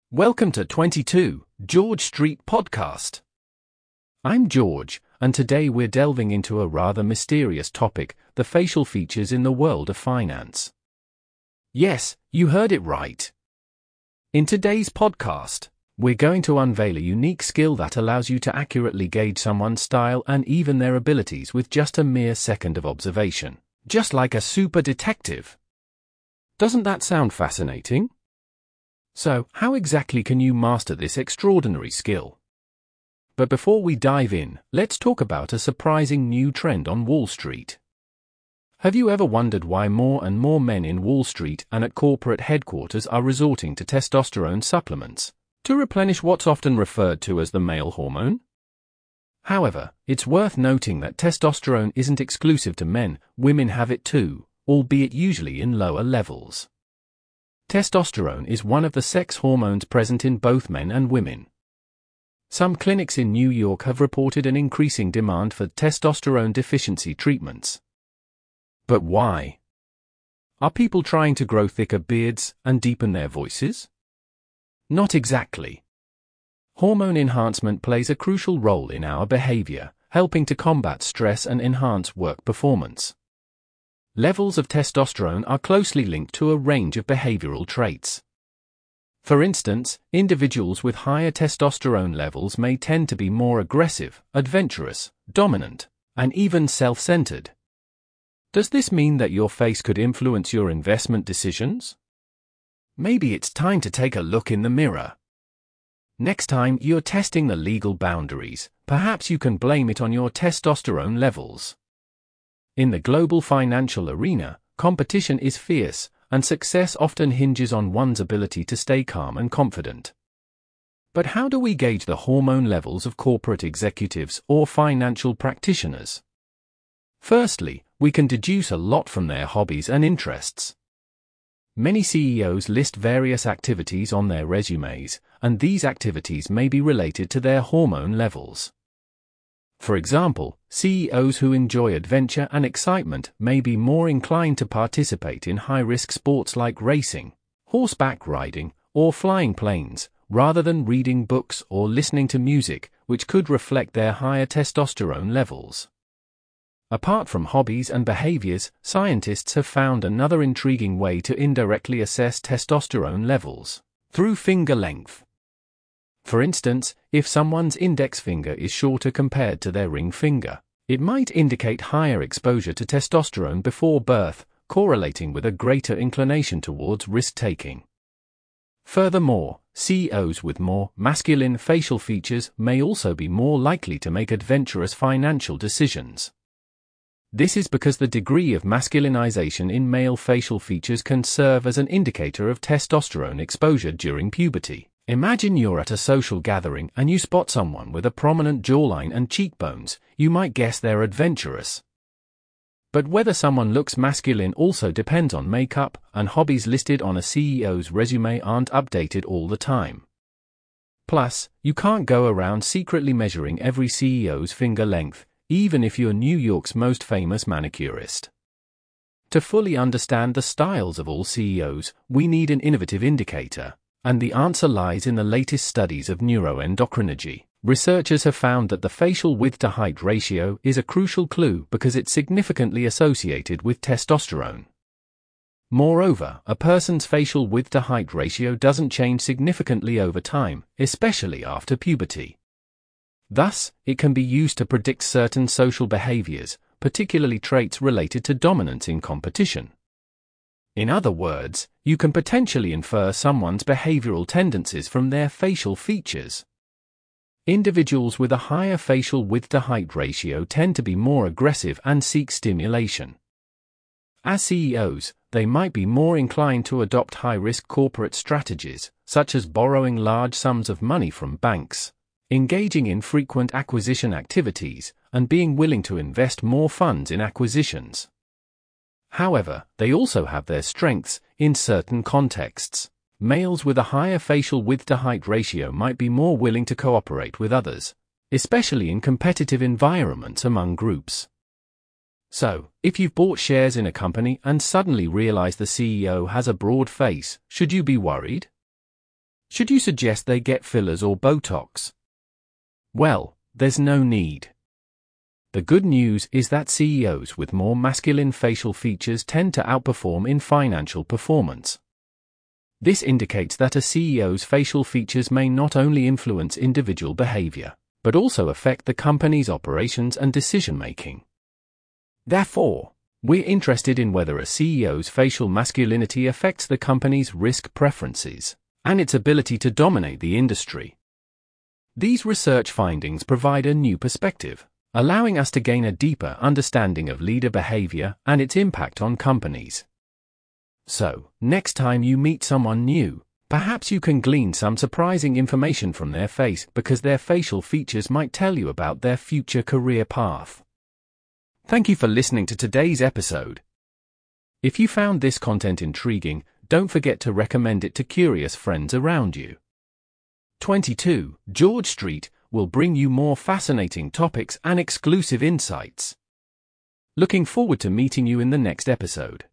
Welcome to 22 George Street Podcast. I'm George, and today we're delving into a rather mysterious topic, the facial features in the world of finance. Yes, you heard it right. In today's podcast, we're going to unveil a unique skill that allows you to accurately gauge someone's style and even their abilities with just a mere second of observation, just like a super detective. Doesn't that sound fascinating? So, how exactly can you master this extraordinary skill? But before we dive in, let's talk about a surprising new trend on Wall Street. Have you ever wondered why more and more men in Wall Street and at corporate headquarters are resorting to testosterone supplements to replenish what's often referred to as the male hormone? However, it's worth noting that testosterone isn't exclusive to men, women have it too, albeit usually in lower levels. Testosterone is one of the sex hormones present in both men and women. Some clinics in New York have reported an increasing demand for testosterone deficiency treatments. But why? Are people trying to grow thicker beards and deepen their voices? Not exactly. Hormone enhancement plays a crucial role in our behavior, helping to combat stress and enhance work performance. Levels of testosterone are closely linked to a range of behavioral traits. For instance, individuals with higher testosterone levels may tend to be more aggressive, adventurous, dominant, and even self-centered. Does this mean that your face could influence your investment decisions? Maybe it's time to take a look in the mirror. Next time you're testing the legal boundaries, perhaps you can blame it on your testosterone levels. In the global financial arena, competition is fierce, and success often hinges on one's ability to stay calm and confident. But how do we gauge the hormone levels of corporate executives or financial practitioners? Firstly, we can deduce a lot from their hobbies and interests. Many CEOs list various activities on their resumes, and these activities may be related to their hormone levels. For example, CEOs who enjoy adventure and excitement may be more inclined to participate in high-risk sports like racing, horseback riding, or flying planes, rather than reading books or listening to music, which could reflect their higher testosterone levels. Apart from hobbies and behaviors, scientists have found another intriguing way to indirectly assess testosterone levels: through finger length. For instance, if someone's index finger is shorter compared to their ring finger, it might indicate higher exposure to testosterone before birth, correlating with a greater inclination towards risk-taking. Furthermore, CEOs with more masculine facial features may also be more likely to make adventurous financial decisions. This is because the degree of masculinization in male facial features can serve as an indicator of testosterone exposure during puberty. Imagine you're at a social gathering and you spot someone with a prominent jawline and cheekbones. You might guess they're adventurous. But whether someone looks masculine also depends on makeup, and hobbies listed on a CEO's resume aren't updated all the time. Plus, you can't go around secretly measuring every CEO's finger length, even if you're New York's most famous manicurist. To fully understand the styles of all CEOs, we need an innovative indicator. And the answer lies in the latest studies of neuroendocrinology. Researchers have found that the facial width-to-height ratio is a crucial clue because it's significantly associated with testosterone. Moreover, a person's facial width-to-height ratio doesn't change significantly over time, especially after puberty. Thus, it can be used to predict certain social behaviors, particularly traits related to dominance in competition. In other words, you can potentially infer someone's behavioral tendencies from their facial features. Individuals with a higher facial width-to-height ratio tend to be more aggressive and seek stimulation. As CEOs, they might be more inclined to adopt high-risk corporate strategies, such as borrowing large sums of money from banks, engaging in frequent acquisition activities, and being willing to invest more funds in acquisitions. However, they also have their strengths. In certain contexts, males with a higher facial width-to-height ratio might be more willing to cooperate with others, especially in competitive environments among groups. So, if you've bought shares in a company and suddenly realize the CEO has a broad face, should you be worried? Should you suggest they get fillers or Botox? Well, there's no need. The good news is that CEOs with more masculine facial features tend to outperform in financial performance. This indicates that a CEO's facial features may not only influence individual behavior, but also affect the company's operations and decision-making. Therefore, we're interested in whether a CEO's facial masculinity affects the company's risk preferences and its ability to dominate the industry. These research findings provide a new perspective, allowing us to gain a deeper understanding of leader behavior and its impact on companies. So, next time you meet someone new, perhaps you can glean some surprising information from their face because their facial features might tell you about their future career path. Thank you for listening to today's episode. If you found this content intriguing, don't forget to recommend it to curious friends around you. 22 George Street will bring you more fascinating topics and exclusive insights. Looking forward to meeting you in the next episode.